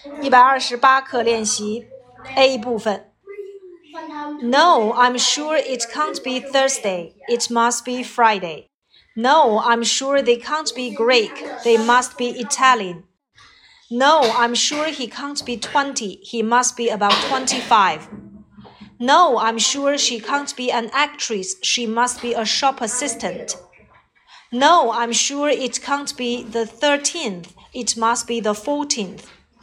128课练习 A 部分。No, I'm sure it can't be Thursday. It must be Friday. No, I'm sure they can't be Greek. They must be Italian. No, I'm sure he can't be 20. He must be about 25. No, I'm sure she can't be an actress. She must be a shop assistant. No, I'm sure it can't be the 13th. It must be the 14th.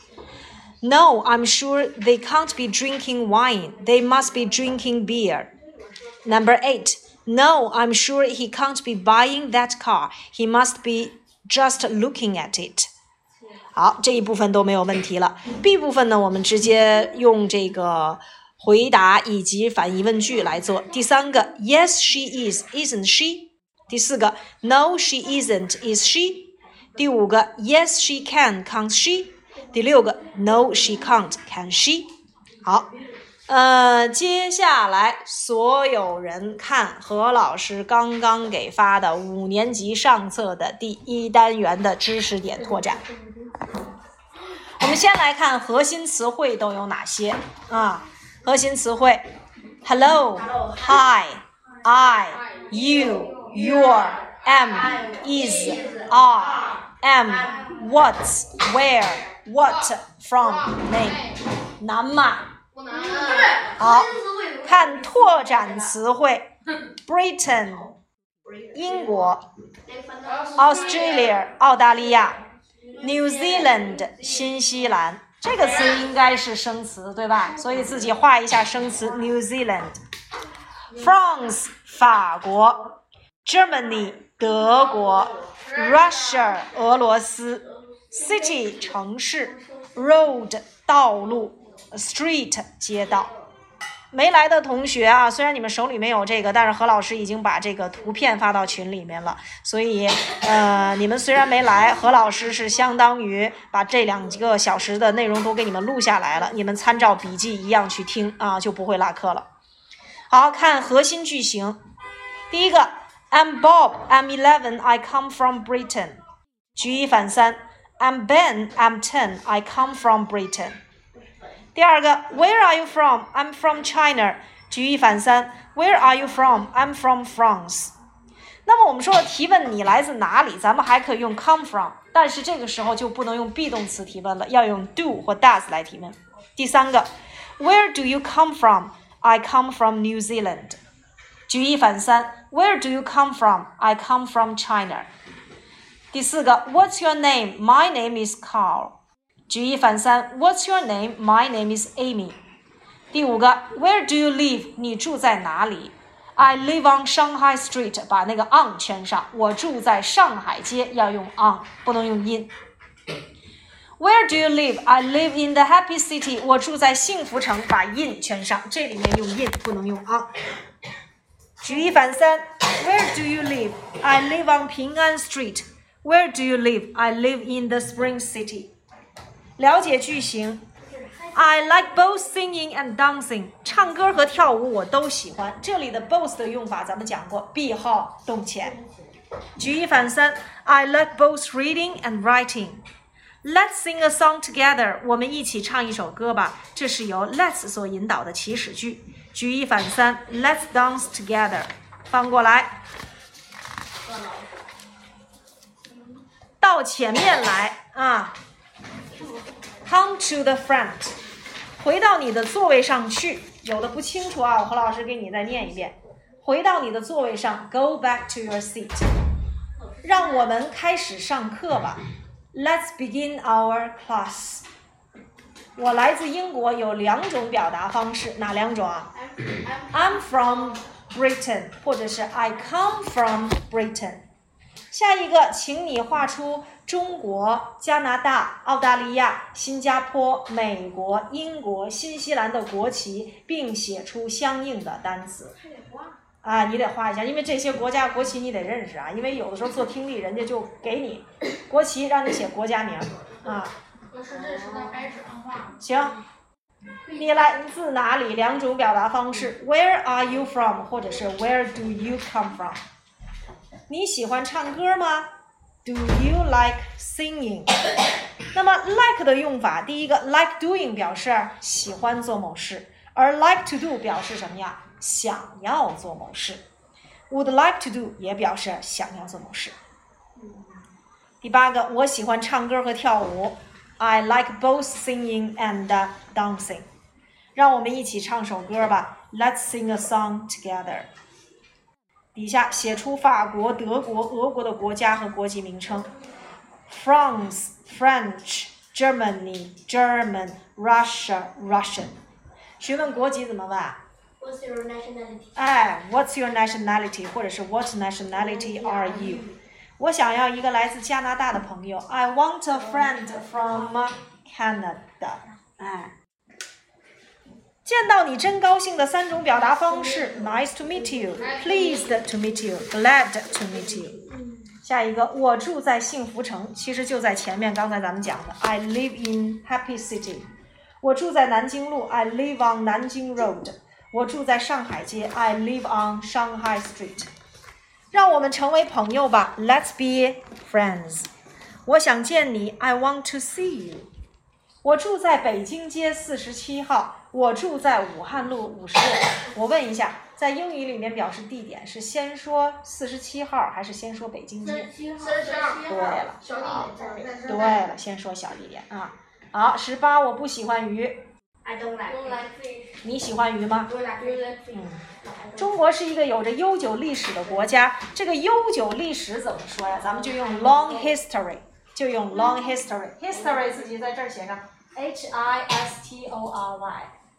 No, I'm sure they can't be drinking wine. They must be drinking beer. Number 8. No, I'm sure he can't be buying that car. He must be just looking at it. 好，这一部分都没有问题了。B 部分呢，我们直接用这个回答以及反疑问句来做。第三个 ，Yes, she is, isn't she? 第四个 ，No, she isn't, is she? 第五个 ，Yes, she can, can't she? 第六个 ，No, she can't, can she? 好，接下来所有人看何老师刚刚给发的5年级上册的第1单元的知识点拓展。我们先来看核心词汇都有哪些啊？核心词汇 ：hello, hi, I, you, your, am, is, are, am, what, where, what, from, name。难吗？ 不难。 好，看拓展词汇 ：Britain 英国 ，Australia 澳大利亚。New Zealand 新西兰，这个词应该是生词，对吧？所以自己画一下生词 New Zealand。France 法国 ，Germany 德国 ，Russia 俄罗斯 ，City 城市 ，Road 道路 ，Street 街道。没来的同学啊，虽然你们手里没有这个，但是何老师已经把这个图片发到群里面了，所以你们虽然没来，何老师是相当于把这2个小时的内容都给你们录下来了，你们参照笔记一样去听啊，就不会落课了。好，看核心句型。第一个 I'm Bob, I'm 11, I come from Britain。举一反三 I'm Ben, I'm 10, I come from Britain。第二个 Where are you from? I'm from China。举一反三 Where are you from? I'm from France。那么我们说的提问你来自哪里，咱们还可以用 come from， 但是这个时候就不能用 be 动词提问了，要用 do 或 does 来提问。第三个 Where do you come from? I come from New Zealand。举一反三 Where do you come from? I come from China。第四个 What's your name? My name is Carl。举一反三 What's your name? My name is Amy。第五个 Where do you live? 你住在哪里？ I live on Shanghai Street。 把那个 on 圈上，我住在上海街，要用 on， 不能用 in。 Where do you live? I live in the happy city。 我住在幸福城，把 in 圈上，这里面用 in， 不能用 on。 举一反三 Where do you live? I live on 平安 Street。 Where do you live? I live in the Spring City。了解句型 I like both singing and dancing。 唱歌和跳舞我都喜欢，这里的 both 的用法咱们讲过 be 号动前。举一反三 I like both reading and writing。 Let's sing a song together。 我们一起唱一首歌吧，这是由 let's 所引导的祈使句。举一反三 Let's dance together。 翻过来到前面来啊，Come to the front， 回到你的座位上去。有的不清楚啊，我何老师给你再念一遍。回到你的座位上 ，Go back to your seat。 让我们开始上课吧 ，Let's begin our class。 我来自英国有2种表达方式，哪2种啊 ？I'm from Britain， 或者是 I come from Britain。下一个，请你画出中国、加拿大、澳大利亚、新加坡、美国、英国、新西兰的国旗，并写出相应的单词。啊，你得画一下，因为这些国家国旗你得认识啊，因为有的时候做听力，人家就给你国旗，让你写国家名啊。 我是这是在白纸上画。 行，你来自哪里？2种表达方式 ，Where are you from？ 或者是 Where do you come from？ 你喜欢唱歌吗？ Do you like singing？ 那么 like 的用法，第一个 like doing 表示喜欢做某事，而 like to do 表示什么呀？想要做某事。Would like to do 也表示想要做某事。第八个，我喜欢唱歌和跳舞。I like both singing and dancing。让我们一起唱首歌吧。Let's sing a song together。底下写出法国、德国、俄国的国家和国籍名称。France, French, Germany, German, Russia, Russian。询问国籍怎么问 ？What's your nationality？ What's your nationality？ 或者是 What nationality are you？ 我想要一个来自加拿大的朋友。I want a friend from Canada。见到你真高兴的3种表达方式 ：Nice to meet you, pleased to meet you, glad to meet you。下一个，我住在幸福城，其实就在前面，刚才咱们讲的 I live in Happy City。我住在南京路 I live on 南京 Road。我住在上海街 I live on Shanghai Street。让我们成为朋友吧 Let's be friends。我想见你 I want to see you。我住在北京街47号。我住在武汉路56。我问一下，在英语里面表示地点是先说47号还是先说北京街？对了，对了，先说小地点啊。好，18，我不喜欢鱼。 I don't like fish。 你喜欢鱼吗？ 中国是一个有着悠久历史的国家，这个悠久历史怎么说呀？咱们就用 long history， 就用 long history。history 自己在这儿写上 history。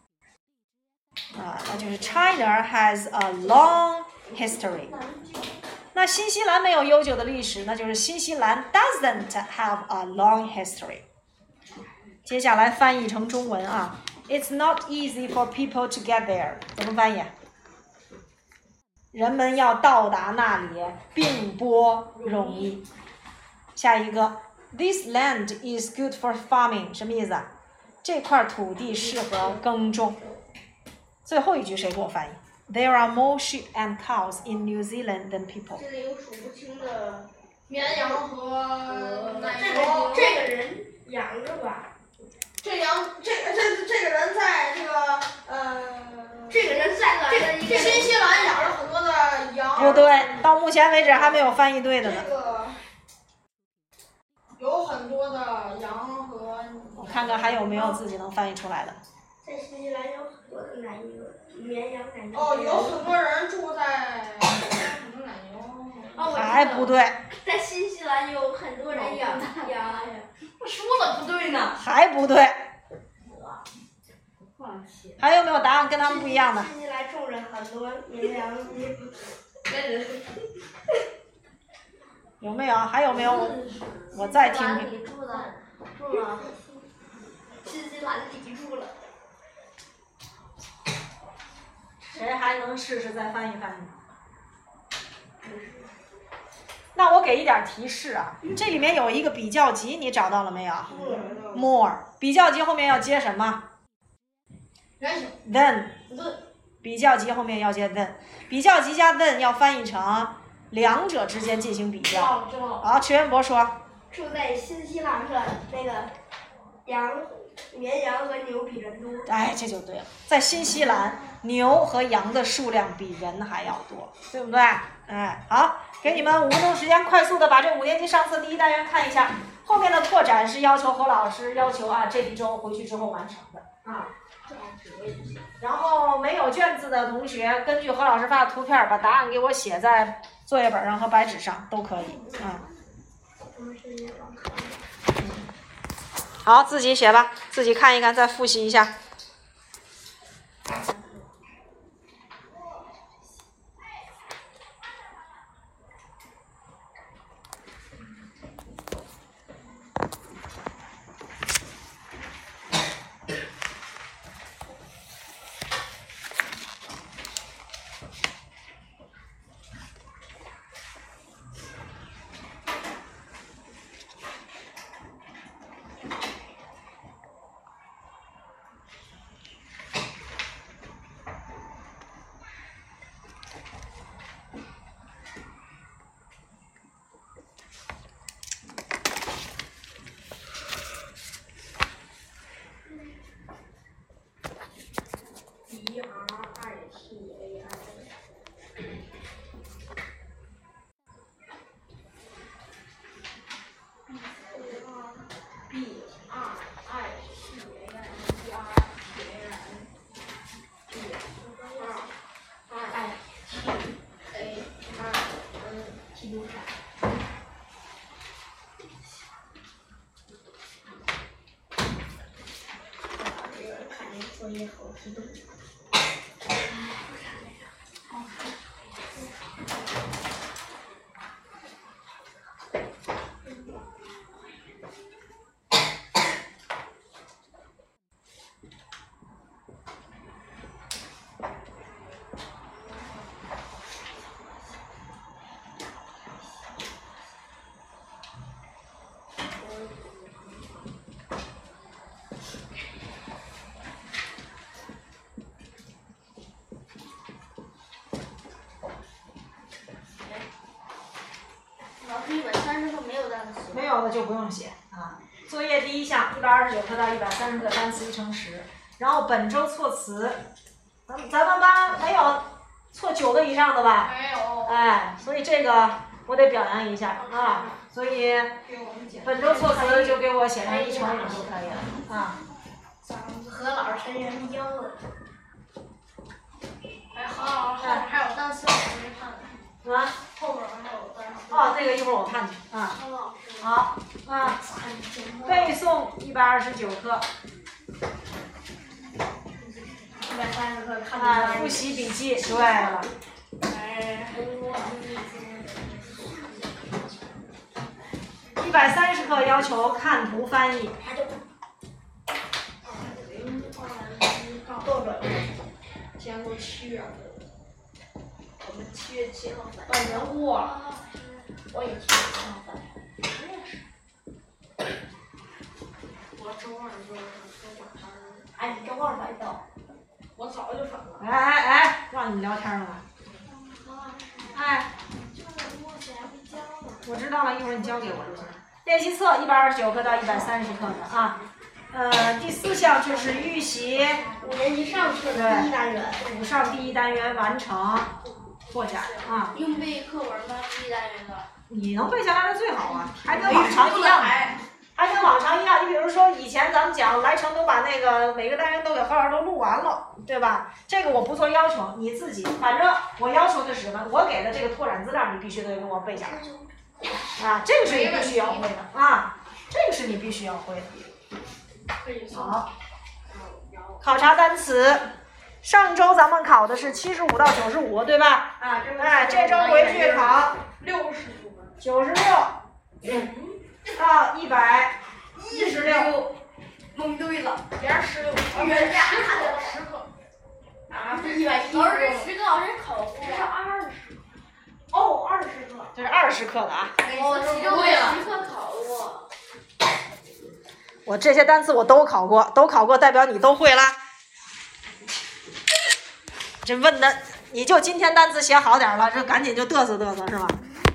那就是 China has a long history。那新西兰没有悠久的历史，那就是新西兰 doesn't have a long history。接下来翻译成中文啊 ，It's not easy for people to get there。怎么翻译？人们要到达那里并不容易。下一个 ，This land is good for farming， 什么意思啊？这块土地适合耕种。最后一句谁给我翻译 ？There are more sheep and cows in New Zealand than people。 这里有数不清的绵羊和这个人养着吧。这个人在新西兰养了很多的羊。 不对，到目前为止还没有翻译对的呢。 有很多的羊和。 我看看还有没有自己能翻译出来的。 在新西兰有很多的绵羊奶牛。 有很多人住在什么奶牛？ 还不对。 在新西兰有很多人养羊。 我说了不对呢。 还不对。还有没有答案跟他们不一样的？ 新西兰种着很多绵羊。 有没有？还有没有？我再听听。 住了。新西兰里住了。 谁还能试试再翻译翻译？那我给一点提示啊，这里面有一个比较级，你找到了没有 ？More 比较级后面要接什么 ？Then 比较级后面要接 then， 比较级加 then 要翻译成两者之间进行比较。好，池元博说。 住在新西兰的那个绵羊和牛比人多。 这就对了，在新西兰，牛和羊的数量比人还要多，对不对？好，给你们5分钟时间，快速的把这5年级上册第1单元看一下，后面的拓展是要求何老师要求这一周回去之后完成的啊。然后没有卷子的同学，根据何老师发的图片，把答案给我写在作业本上和白纸上都可以啊。好，自己写吧，自己看一看，再复习一下。 作业好激动。130课没有单词。 没有的就不用写啊。作业第一项129课到130课，单词1乘10。然后本周措辞，咱们班没有错9个以上的吧？ 没有。 哎，所以这个我得表扬一下啊。所以本周措辞就给我写成1乘5就可以了啊。 何老师真人妖了。 还有单词我没看。 啊？ 后边还有单词。 哦，这个一会儿我看去啊。好啊，背诵129课。 130课看啊，复习笔记，对了。130课要求看图翻译。 多少？先过7月。我们7月7号返。 半年过了。 我也7月7号返。我也是。我周2就晚上。哎，你周2才到。 我早就返了。 哎，让你们聊天了吧？哎。我知道了，一会儿你交给我就行。练习册129课到130课的啊。第4项就是预习 5年级上课的第1单元。 5上第1单元完成获奖啊。 用背课文吗？第1单元的。 你能背下来的最好啊，还跟往常一样。还跟往常一样，你比如说以前咱们讲来成都把那个每个单元都给何老师都录完了，对吧？这个我不做要求，你自己反正我要求的是什么？我给的这个拓展资料你必须得给我背下来啊，这个是你必须要会的啊，这个是你必须要会的。好，考察单词，上周咱们考的是75到95，对吧？哎，这周回去考96到116。 蒙对了。 连16。 原价看了 10课。 啊，是110。 老师这10个老师考过。 这是20。哦，20课。 这是20课的啊。 我其中10课考过。 我这些单词我都考过，代表你都会啦。这问的，你就今天单词写好点了，这赶紧就嘚瑟嘚瑟是吧？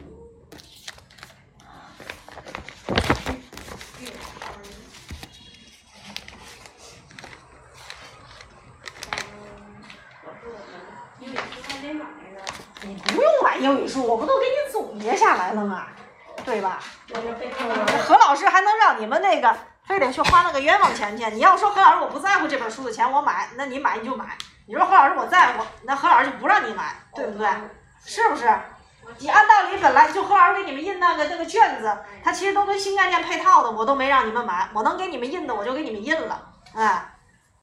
你不用买英语书，我不都给你总结下来了吗？对吧？何老师还能让你们那个非得去花那个冤枉钱去？你要说何老师我不在乎这本书的钱，我买，那你买你就买。你说何老师我在乎，那何老师就不让你买，对不对？是不是？你按道理本来就何老师给你们印那个卷子，它其实都跟新概念配套的，我都没让你们买，我能给你们印的我就给你们印了，哎。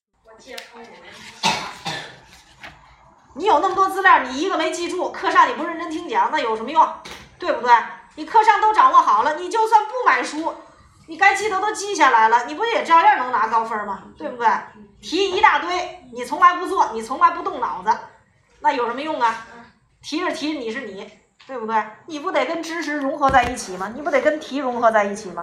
你有那么多资料，你一个没记住，课上你不认真听讲，那有什么用？对不对？你课上都掌握好了，你就算不买书，你该记得都记下来了，你不也照样能拿高分吗？对不对？题一大堆，你从来不做，你从来不动脑子，那有什么用啊？题是题，你是你，对不对？你不得跟知识融合在一起吗？你不得跟题融合在一起吗？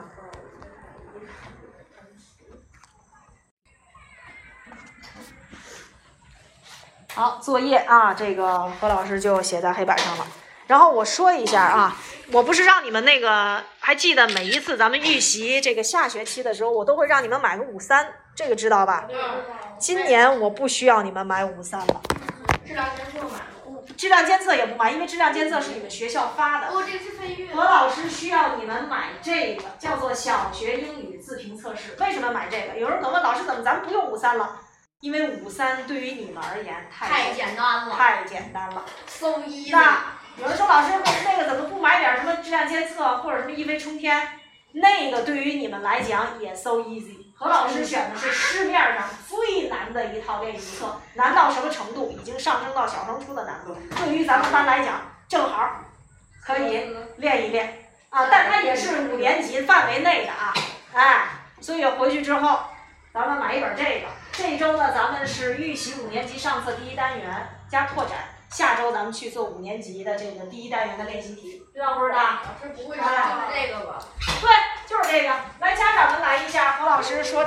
好，作业啊，这个何老师就写在黑板上了。然后我说一下啊，我不是让你们那个，还记得每一次咱们预习这个下学期的时候，我都会让你们买个53，这个知道吧？今年我不需要你们买53了。 这2年就买了。 质量监测也不买，因为质量监测是你们学校发的。 这个是飞跃。 何老师需要你们买这个，叫做小学英语自评测试。为什么买这个？有人可能问老师，怎么咱们不用53了？因为53对于你们而言太简单了，太简单了。 So easy。 那有人说老师，那个怎么不买点什么质量监测或者什么一飞冲天？那个对于你们来讲也 so easy。何老师选的是市面上最难的一套练习册，难到什么程度？已经上升到小升初的难度。对于咱们班来讲，正好可以练一练啊。但它也是5年级范围内的啊，哎，所以回去之后，咱们买一本这个。这一周呢，咱们是预习5年级上册第1单元加拓展。下周咱们去做5年级的这个第1单元的练习题，知道不知道？ 老师不会是这个吧？ 对，就是这个。来，家长们来一下，何老师说点。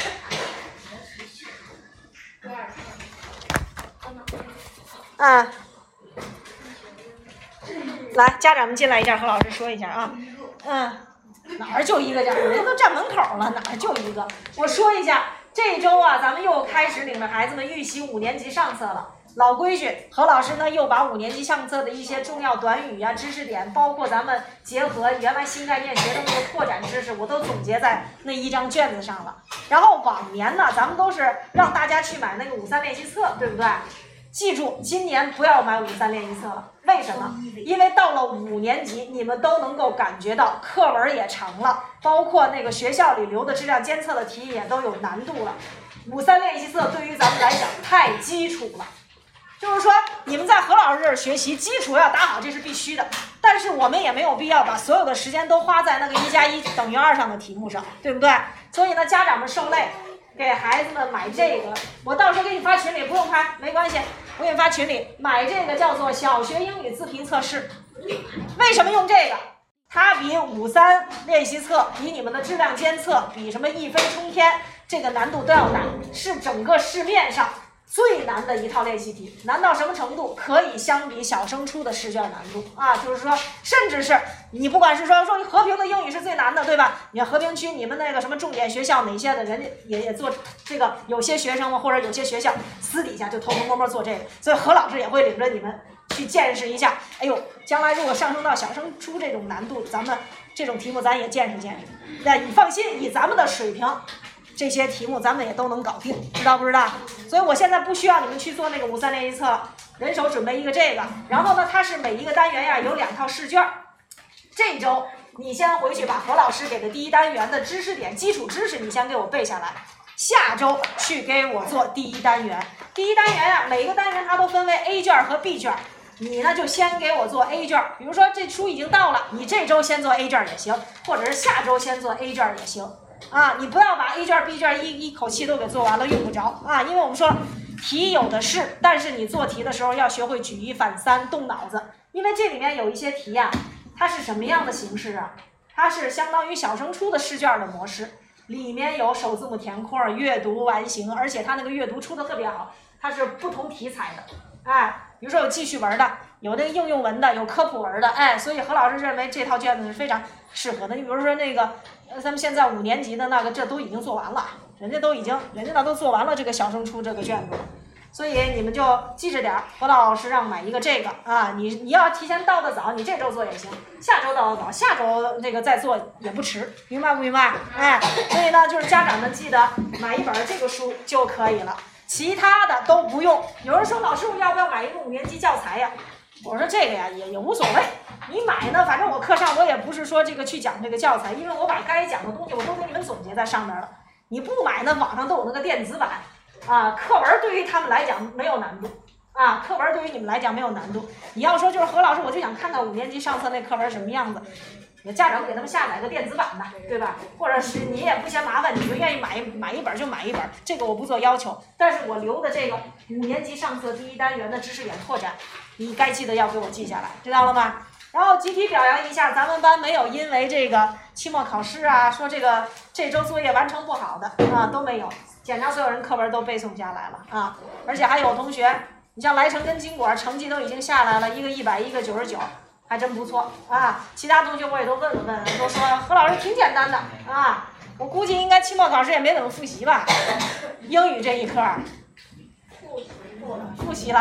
来，家长们进来一下，何老师说一下啊。哪儿就一个家长，人都站门口了，哪儿就一个。我说一下，这一周啊，咱们又开始领着孩子们预习5年级上册了。老规矩，何老师呢又把5年级上册的一些重要短语啊、知识点，包括咱们结合原来新概念学的那个拓展知识，我都总结在那一张卷子上了。然后往年呢，咱们都是让大家去买那个53练习册，对不对？记住，今年不要买53练习册了。为什么？因为到了5年级，你们都能够感觉到课文也长了，包括那个学校里留的质量监测的题也都有难度了。53练习册对于咱们来讲太基础了。就是说，你们在何老师这儿学习，基础要打好，这是必须的。但是我们也没有必要把所有的时间都花在那个1+1等于2上的题目上，对不对？所以呢，家长们受累，给孩子们买这个。我到时候给你发群里，不用拍，没关系，我给你发群里。买这个叫做小学英语自评测试。为什么用这个？它比53练习册，比你们的质量监测，比什么一飞冲天这个难度都要难，是整个市面上最难的一套练习题。难到什么程度？可以相比小升初的试卷难度啊，就是说，甚至是你不管是说和平的英语是最难的，对吧？你看和平区你们那个什么重点学校哪些的，人家也做这个，有些学生们或者有些学校私底下就偷偷摸摸做这个，所以何老师也会领着你们去见识一下。哎呦，将来如果上升到小升初这种难度，咱们这种题目咱也见识见识。那你放心，以咱们的水平，这些题目咱们也都能搞定，知道不知道？所以我现在不需要你们去做那个53练习册了，人手准备一个这个。然后呢，它是每一个单元呀有2套试卷。这周你先回去把何老师给的第1单元的知识点、基础知识你先给我背下来。下周去给我做第1单元。第1单元呀，每一个单元它都分为 A 卷和 B 卷。你呢就先给我做 A 卷，比如说这书已经到了，你这周先做 A 卷也行，或者是下周先做 A 卷也行。啊，你不要把 A 卷 B 卷一口气都给做完了，用不着啊，因为我们说题有的是，但是你做题的时候要学会举一反三，动脑子，因为这里面有一些题呀，它是什么样的形式啊？它是相当于小升初的试卷的模式，里面有首字母填空、阅读完形，而且它那个阅读出的特别好，它是不同题材的，哎，比如说有记叙文的，有那个应用文的，有科普文的，哎，所以何老师认为这套卷子是非常适合的。你比如说那个咱们现在5年级的那个，这都已经做完了，人家那都做完了这个小升初这个卷子，所以你们就记着点，何老师让买一个这个啊，你要提前到的早，你这周做也行，下周到的早，下周那个再做也不迟，明白不明白？哎，所以呢，就是家长们记得买一本这个书就可以了，其他的都不用。有人说老师，我要不要买一个5年级教材呀？我说这个呀也无所谓，你买呢，反正我课上我也不是说这个去讲这个教材，因为我把该讲的东西我都给你们总结在上面了。你不买呢，网上都有那个电子版啊。课文对于他们来讲没有难度啊，课文对于你们来讲没有难度。你要说就是何老师，我就想看看5年级上册那课文什么样子，你家长给他们下载个电子版的，对吧？或者是你也不嫌麻烦，你就愿意买一本就买一本，这个我不做要求。但是我留的这个5年级上册第1单元的知识点拓展，你该记得要给我记下来，知道了吗？然后集体表扬一下，咱们班没有因为这个期末考试啊，说这周作业完成不好的啊，都没有。检查所有人课文都背诵下来了啊，而且还有同学，你像来成跟金果成绩都已经下来了，一个100，一个99，还真不错啊。其他同学我也都问了问，都说何老师挺简单的啊，我估计应该期末考试也没怎么复习吧。英语这一科复习了，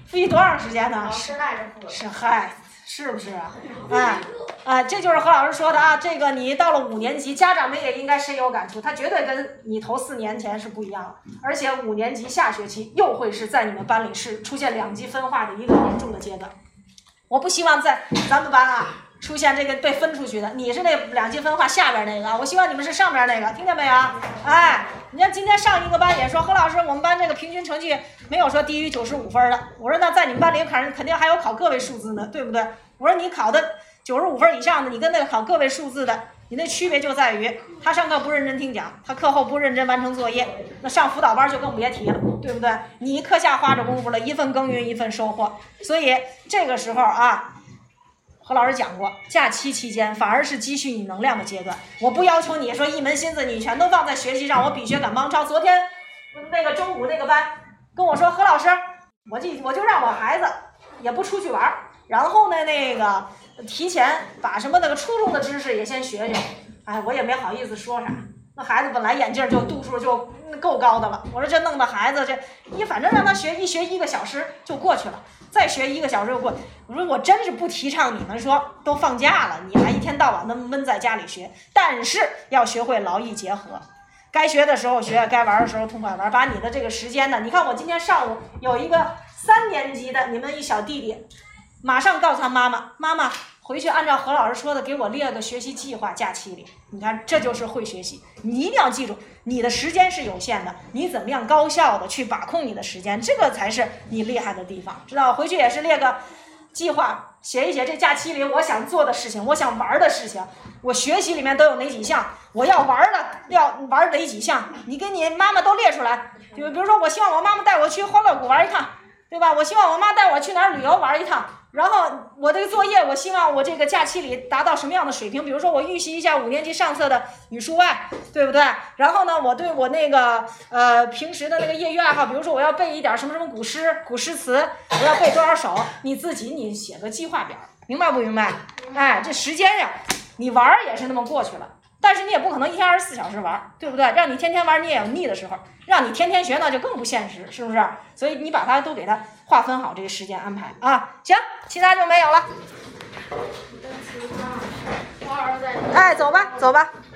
复习多长时间呢？ 是赖着复。 是嗨，是不是啊？这就是何老师说的啊。这个你到了5年级，家长们也应该深有感触，他绝对跟你头4年前是不一样的。而且5年级下学期又会是在你们班里是出现2级分化的一个严重的阶段。我不希望在咱们班啊出现这个被分出去的，你是那2级分化下边那个，我希望你们是上边那个，听见没有？哎，你看今天上一个班也说，何老师，我们班这个平均成绩没有说低于95分的。我说那在你们班里肯定还有考个位数字呢，对不对？我说你考的95分以上的，你跟那个考个位数字的，你那区别就在于他上课不认真听讲，他课后不认真完成作业，那上辅导班就更别提了，对不对？你课下花着功夫了，一份耕耘一份收获。所以这个时候啊，何老师讲过，假期期间反而是积蓄你能量的阶段。我不要求你说一门心思你全都放在学习上，我比学赶帮超。昨天那个中午那个班跟我说，何老师，我就让我孩子也不出去玩，然后呢那个提前把什么那个初中的知识也先学学。哎，我也没好意思说啥。那孩子本来眼镜就度数就够高的了，我说这弄得孩子反正让他学1个小时就过去了，再学1个小时就过去。我说我真是不提倡你们说都放假了，你还一天到晚的闷在家里学，但是要学会劳逸结合，该学的时候学，该玩的时候痛快玩，把你的这个时间呢，你看我今天上午有一个3年级的你们一小弟弟，马上告诉他妈妈回去按照何老师说的给我列个学习计划，假期里，你看这就是会学习。你一定要记住，你的时间是有限的，你怎么样高效的去把控你的时间，这个才是你厉害的地方，知道？回去也是列个计划，写一写这假期里我想做的事情，我想玩的事情，我学习里面都有哪几项，我要玩哪几项，你跟你妈妈都列出来。就比如说，我希望我妈妈带我去欢乐谷玩一趟，对吧？我希望我妈带我去哪儿旅游玩一趟。然后我这个作业，我希望我这个假期里达到什么样的水平？比如说我预习一下5年级上册的语数外，对不对？然后呢，我对我那个平时的那个业余爱好，比如说我要背一点什么古诗词，我要背多少首，你写个计划表，明白不明白？哎，这时间呀，你玩也是那么过去了。但是你也不可能1天24小时玩，对不对？让你天天玩你也有腻的时候，让你天天学那就更不现实，是不是？所以你把它都给它划分好这个时间安排啊。行，其他就没有了。哎，走吧。